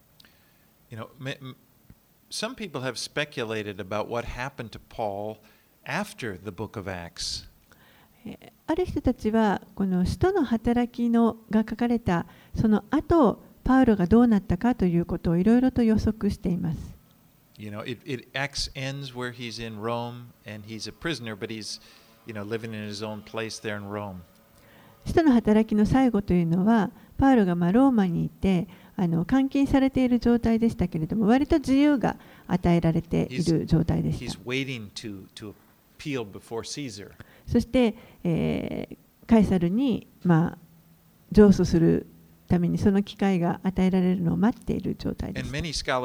You know, ma- m- some people have speculated about what happened to Paul after the book of Acts. えーある人たちはこの使徒の働きのが書かれたその後パウロがどうなったかということをいろいろと予測しています。 You know, it, it Acts ends where he's in Rome and he's a prisoner, but he's, you know, living in his own place there in Rome. 使徒の働きの最後というのはパウロがまあローマにいてあの監禁されている状態でしたけれども、割と自由が与えられている状態でした。そして、えー、カエサルに、まあ、上訴するためにその機会が与えられるのを待っている状態です。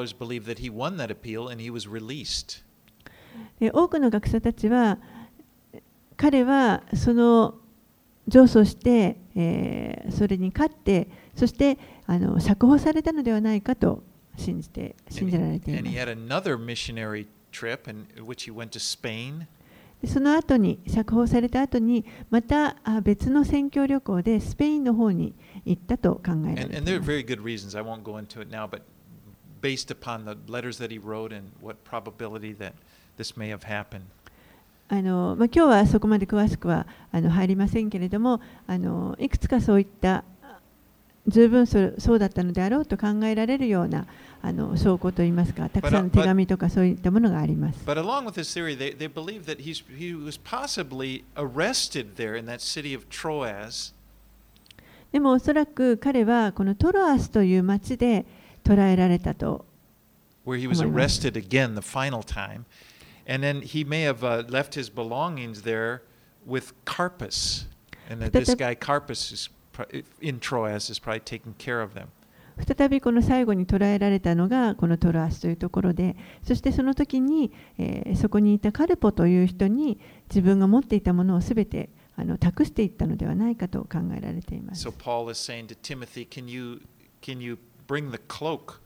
多くの学者たちは、彼はその上訴して、えー、それに勝って、そしてあの釈放されたのではないかと信じて信じられています。その後に釈放された後にまた別の宣教旅行でスペインの方に行ったと考えられています。あのまあ、今日はそこまで詳しくはあの入りませんけれども、あのいくつかそういった十分 そ, そうだったのであろうと考えられるようなあの証拠といいますか、たくさんの手紙とかそういったものがあります。 But along with this theory, they, they believe that he's, he was possibly arrested there in that city of Troas. でもおそらく彼はこのトロアスという町で捕らえられたと思います。Where he was arrested again the final time, and then he may have uh, left his belongings there with Carpus, and that this guy Carpus is in Troas is probably taking care of them. 再びこの最後に捕らえられたのがこのトロアスというところで、そしてその時に、えー、そこにいたカルポという人に自分が持っていたものをすべてあの託していったのではないかと考えられています。 So Paul is saying to Timothy, can you can you bring the cloak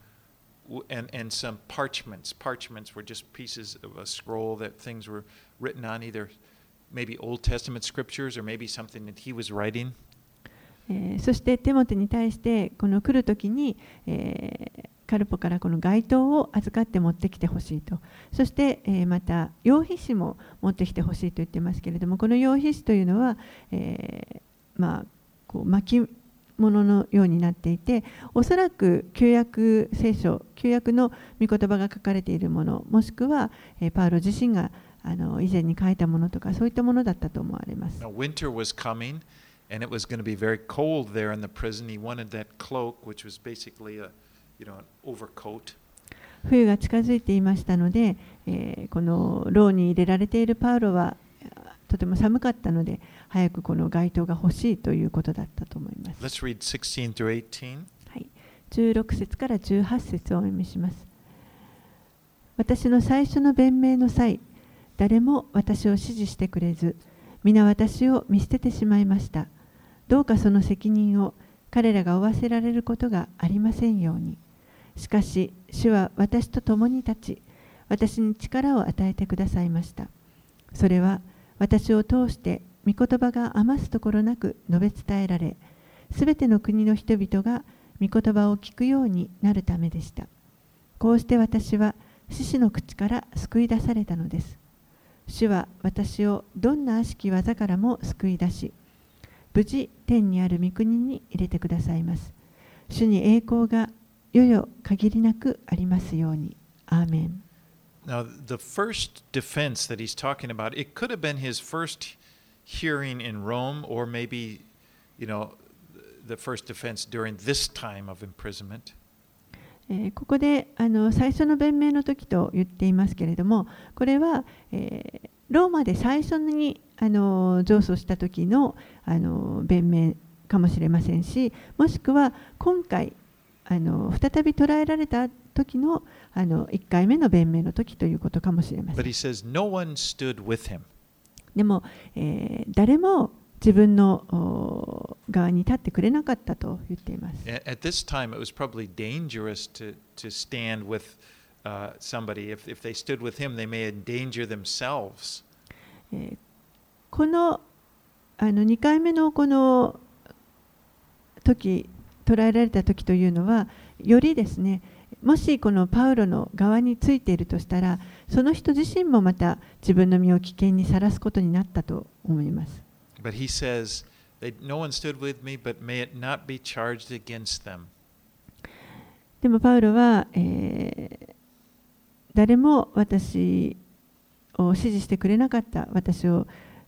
and and some parchments? Parchments were just pieces of a scroll that things were written on, either maybe Old Testament scriptures or maybe something that he was writing. えー、そしてテモテに対してこの来るときに、えー、カルポからこの街灯を預かって持ってきてほしいと、そして、えー、また羊皮紙も持ってきてほしいと言ってますけれども、この羊皮紙というのは、えー、まあこう巻物のようになっていて、おそらく旧約聖書、旧約の御言葉が書かれているもの、もしくは、えー、パウロ自身があの以前に書いたものとか、そういったものだったと思われます。 Now, winter was coming. And it was going to be very cold there in the prison. He wanted that cloak, which was basically a, you know, an overcoat. 冬が近づいていましたので、えー、この牢に入れられているパウロはとても寒かったので、早くこの街灯が欲しいということだったと思います。 Let's read sixteen through eighteen. はい、じゅうろく節からじゅうはち節をお読みします。私の最初の弁明の際、誰も私を支持してくれず、皆私を見捨ててしまいました。どうかその責任を彼らが負わせられることがありませんように。しかし、主は私と共に立ち、私に力を与えてくださいました。それは私を通して御言葉が余すところなく述べ伝えられ、すべての国の人々が御言葉を聞くようになるためでした。こうして私は獅子の口から救い出されたのです。主は私をどんな悪しき技からも救い出し、無事天にある御国に入れてくださいます。主に栄光がよよ限りなくありますように。アーメン。 Now, the first defense that he's talking about, it could have been his first hearing in Rome, or maybe, you know, the first defense during this time of imprisonment. えー、ここであの最初の弁明の時と言っていますけれども、これは、えー、ローマで最初にあの上訴した時のあの弁明かもしれませんし、もしくは今回あの再び捕らえられた時のあのいっかいめの弁明の時ということかもしれません。 But he says, no one stood with him. でも、えー、誰も自分の側に立ってくれなかったと言っています。 At this time, it was probably dangerous to, to stand with uh, somebody. If, if they stood with him, they may endanger themselves. えー、このあのにかいめのこの時、捕らえられた時というのは、よりですね、もしこのパウロの側についているとしたら、その人自身もまた自分の身を危険にさらすことになったと思います。 But he says, no one stood with me, but may it not be charged against them. でもパウロは、えー、誰も私を支持してくれなかった、私を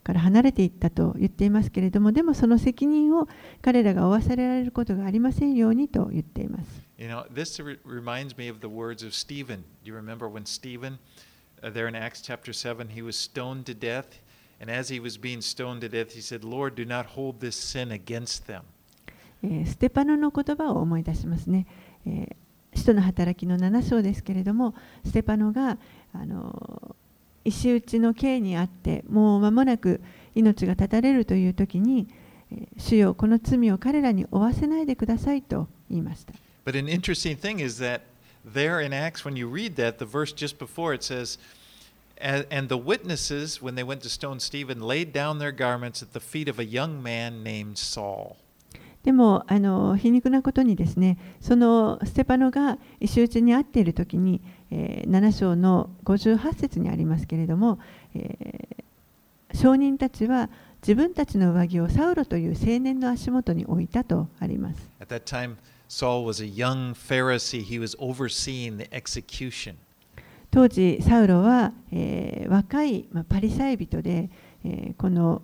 から離れていったと言っていますけれども、でもその責任を彼らが負わされられることがありませんようにと言っています。 You know, this re- reminds me of the words of Stephen. Do you remember when Stephen, uh, there in Acts chapter seven, he was stoned to death, and as he was being stoned to death, he said, Lord, do not hold this sin against them. えーステパノの言葉を思い出しますね。えー使徒の働きのなな章ですけれども、ステパノがあの石打ちの刑にあって、もう間もなく命が絶たれるという時に、えー主よこの罪を彼らに負わせないでくださいと言いました。 But an interesting thing is that there in Acts, when you read that, the verse just before it says, "And and the witnesses, when they went to stone Stephen, laid down their garments at the feet of a young man named Saul." でもあの皮肉なことにですね、そのステパノが石打ちにあっている時に、えー、なな章のごじゅうはち節にありますけれども、えー、証人たちは自分たちの上着をサウロという青年の足元に置いたとあります。 At that time, Saul was a young Pharisee. He was overseeing the execution. 当時サウロは、えー、若い、まあ、パリサイ人で、えー、この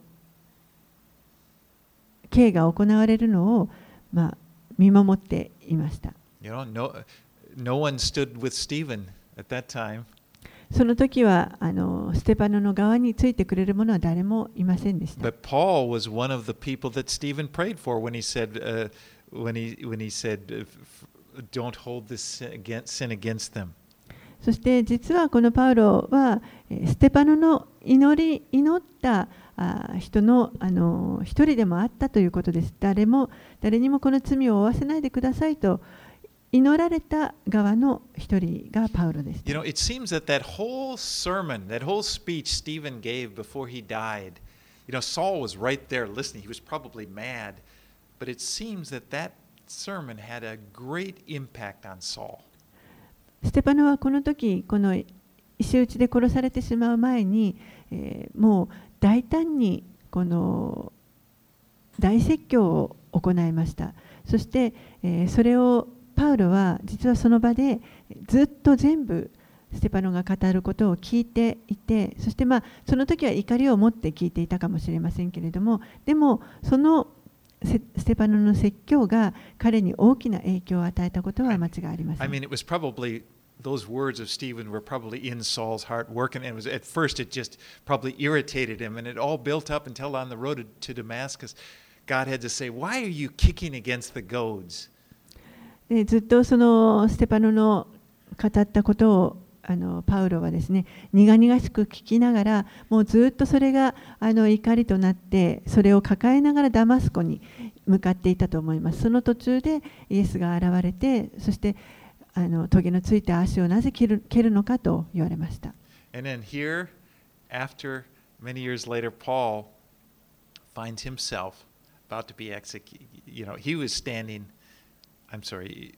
刑が行われるのを、まあ、見守っていました。 You know, no, no one stood with Stephen at that time. その時はあのステパノの側についてくれる者は誰もいませんでした。 But Paul was one of the people that Stephen prayed for when he said, uh, when he when he said, "Don't hold this sin against, sin against them." そして実はこのパウロはステパノの祈り祈った人のあの一人でもあったということです。誰も誰にもこの罪を負わせないでくださいと祈られた側の一人がパウロです。 You know, it seems that that whole sermon, that whole speech Stephen gave before he died, you know, Saul was right there listening. He was probably mad, but it seems that that sermon had a great impact on Saul. ステパノはこの時この石打ちで殺されてしまう前に、えー、もう大胆にこの大説教を行いました。そして、えー、それをパウロは実はその場でずっと全部ステパノが語ることを聞いていて、そしてまあその時は怒りを持って聞いていたかもしれませんけれども、でもそのステパノの説教が彼に大きな影響を与えたことは間違いありません。 I mean, it was probably those words of Stephen were probably in Saul's heart working, and it was at first it just probably irritated him, and it all built up until on the road to Damascus, God had to say, "Why are you kicking against the goads?" でずっとそのステパノの語ったことをあのパウロはですね、苦々しく聞きながら、もうずっとそれがあの怒りとなって、それを抱えながらダマスコに向かっていたと思います。その途中でイエスが現れて、そしてあの棘のついた足をなぜ蹴る、蹴るのかと言われました。 And then here, after many years later, Paul finds himself about to be executed. You know, he was standing, I'm sorry,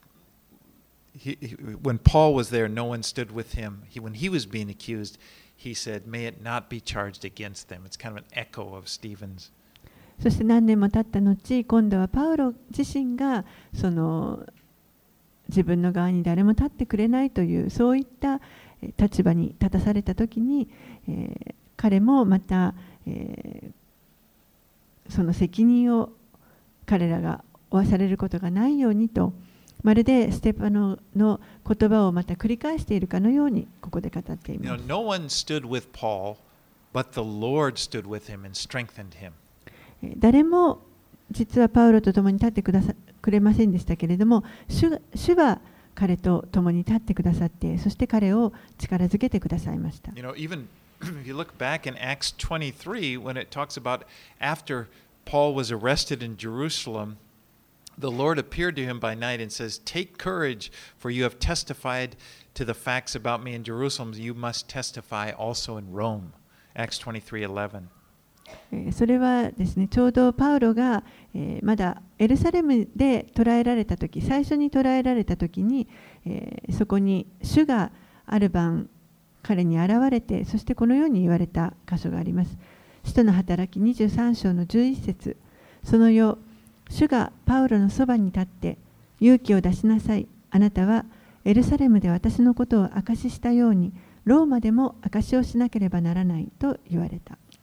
he, he, when Paul was there, no one stood with him. He, when he was being accused, he said, "May it not be charged against them." It's kind of an echo of Stephen's. そして何年も経った後、今度はパウロ自身がその自分の側に誰も立ってくれないというそういった立場に立たされたときに、えー、彼もまた、えー、その責任を彼らが負わされることがないようにと、まるでステパノの言葉をまた繰り返しているかのようにここで語っています。 You know, no one stood with Paul, but the Lord stood with him and strengthened him. 誰も実はパウロと共に立ってくださくれませんでしたけれども、主、主は彼と共に立ってくださって、そして彼を力づけてくださいました。 You know, even if you look back in Acts twenty-three, when it talks about after Paul was arrested in Jerusalem, the Lord appeared to him by night and says, "Take courage, for you have testified to the facts about me in Jerusalem. You must testify also in Rome." Acts twenty-three eleven. それはですね、ちょうどパウロが、えー、まだエルサレムで捕らえられたとき、最初に捕らえられたときに、えー、そこに主がある晩彼に現れて、そしてこのように言われた箇所があります。使徒の働きにじゅうさん章のじゅういち節、その夜、主がパウロのそばに立って、勇気を出しなさい。あなたはエルサレムで私のことを証ししたように、ローマでも証しをしなければならないと言われた。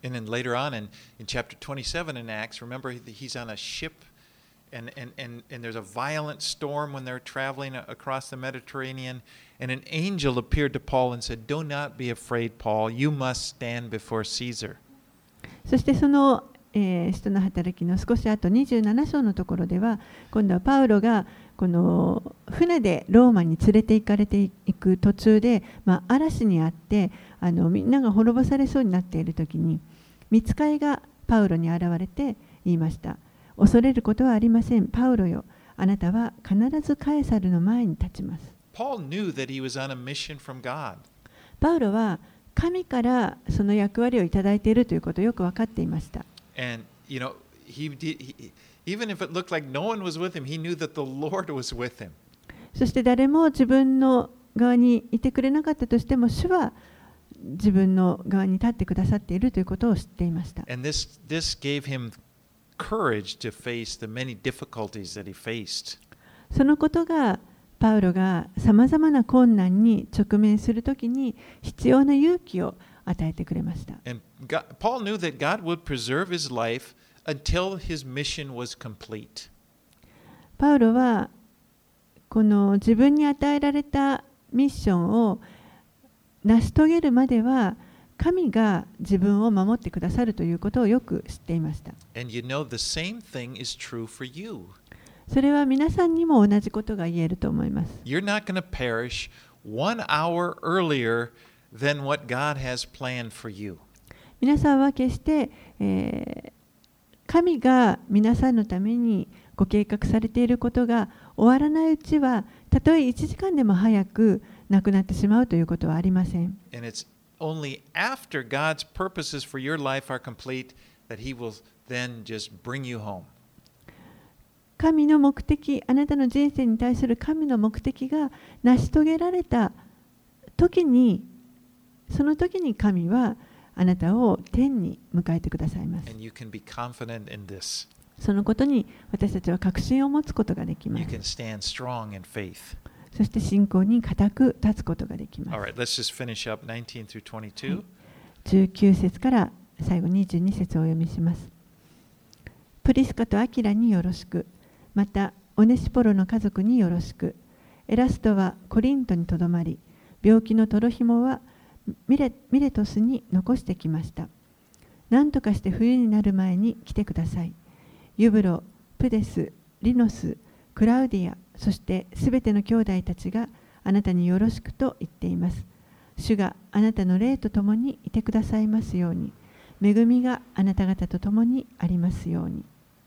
And then later on in, in chapter twenty-seven in Acts, remember he's on a ship and, and, and, and there's a violent storm when they're traveling across the Mediterranean. And an angel appeared to Paul and said, "Do not be afraid, Paul. You must stand before Caesar." そしてその、えー、使徒の働きの少し後にじゅうなな章のところでは、今度はパウロがこの船でローマに連れて行かれていく途中で、まあ、嵐にあってあのみんなが滅ぼされそうになっている時に、御使いがパウロに現れて言いました。恐れることはありません。パウロよ、あなたは必ずカエサルの前に立ちます。 Paul knew that he was on a mission from God. パウロは神からその役割をいただいているということをよく分かっていました。 And, you know, he did, he, even if it looked like no one was with him, he knew that the Lord was with him. そして誰も自分の側にいてくれなかったとしても、主は自分の側に立ってくださっているということを知っていました。 And this, this gave him courage to face the many difficulties that he faced. そのことがパウロがさまざまな困難に直面するときに必要な勇気を与えてくれました。 And God, Paul knew that God would preserve his life until his mission was complete. パウロはこの自分に与えられたミッションを成し遂げるまでは神が自分を守ってくださるということをよく知っていました。 And you know the same thing is true for you. それは皆さんにも同じことが言えると思います。 You're not going to perish one hour earlier than what God has planned for you. 皆さんは決して、えー、神が皆さんのためにご計画されていることが終わらないうちは、たとえいちじかんでも早く亡くなってしまうということはありません。 And it's only after God's purposes for your life are complete that He will then just bring you home. 神の目的、あなたの人生に対する神の目的が成し遂げられた時に、その時に神はあなたを天に迎えてくださいます。 And you can be confident in this. そのことに私たちは確信を持つことができま You す。 can stand strong in faith. そして信仰に固く立つことができます。 All right, let's just finish up nineteen through twenty-two. じゅうきゅう節から最後にじゅうに節をお読みします。プリスカとアキラによろしく。また、オネシポロの家族によろしく。エラストはコリントにとどまり、病気のトロヒモはミレ、ミレトスに残してきました。何とかして冬になる前に来てください。ユブロ、プデス、リノス、クラウディア、そしてすべての兄弟たちがあなたによろしくと言っています。主があなたの霊とともにいてくださいますように。恵みがあなた方とともにありますように。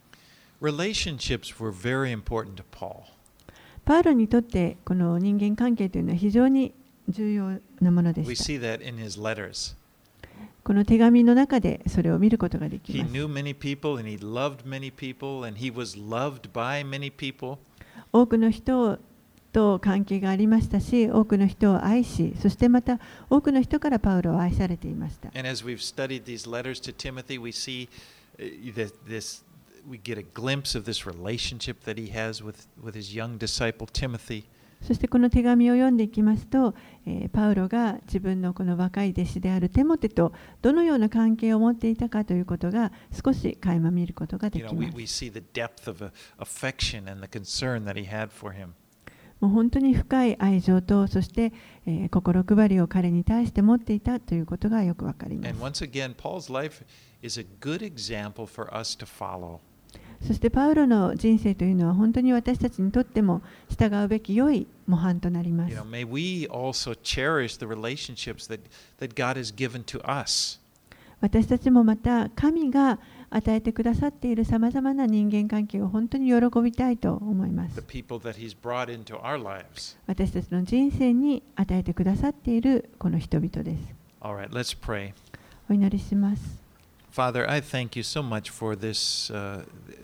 Relationships were very important to Paul. パウロにとってこの人間関係というのは非常に重要なもので We した。 see that in his letters. この手紙の中でそれを見ることができ He ます。 knew many people and he loved many people and he was loved by many people. 多くの人と関係がありましたし、多くの人を愛し、そしてまた多くの人からパウロは愛されていました。 And as we've studied these letters to Timothy, we see uh, that this, we get a glimpse of this relationship that he has with, with his young disciple Timothy. そしてこの手紙を読んでいきますと、えーパウロが自分のこの若い弟子であるテモテとどのような関係を持っていたかということが少し垣間見ることがで You き know, ま we, す。 we see the depth of uh, affection and the concern that he had for him. もう本当に深い愛情と、そして、えー心配りを彼に対して持っていたということがよくわかりま And す。 once again, Paul's life is a good example for us to follow. そしてパウロの人生というのは本当に私たちにとっても従うべき良い模範となりま You す know,。may we also cherish the relationships that, that God has given to us. 私たちもまた神が与えてくださっているさまざまな人間関係を本当に喜びたいと思いま The す。 people that he's brought into our lives. 私たちの人生に与えてくださっているこの人々です。 All right, let's pray. お祈りします。 Father, I thank you so much for this uh,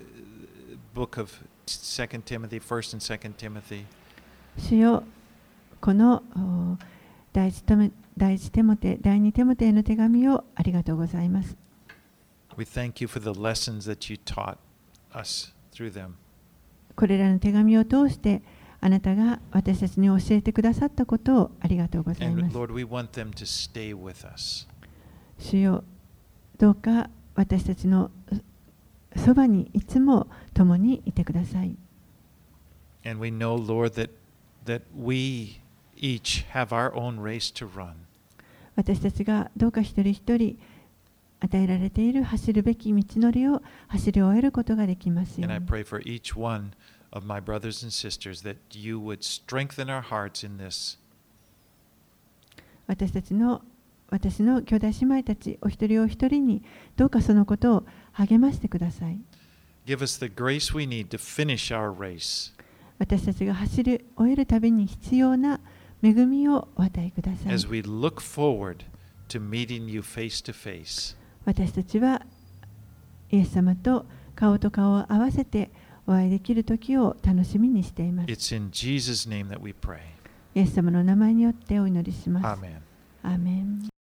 book of Second Timothy, First and Second Timothy. 主よ、このお第一テモ第一テモテ、第二テモテへの手紙をありがとうございます。 We thank you for the lessons that you taught us through them. これらの手紙を通してあなたが私たちに教えてくださったことをありがとうござい And ます。 Lord, we want them to stay with us. 主よ、 どうか私たちのそばにいつも共にいてください。 And we know, Lord, that, that we each have our own race to run. 私たちがどうか一人一人与えられている走るべき道のりを走り終えることができますよう And I に。 pray for each one of my brothers and sisters that you would strengthen our hearts in this. 私たちの私の兄弟姉妹たちお一人お一人にどうかそのことを励ましてください。 Give us the grace we need to finish our race 私たちが走り終えるたびに必要な恵みをお与えください。 as we look forward to meeting you face to face. 私たちはイエス様と顔と顔を合わせてお会いできる時を楽しみにしています。 It's in Jesus' name that we pray. イエス様の名前によってお祈りします。 Amen. アーメン。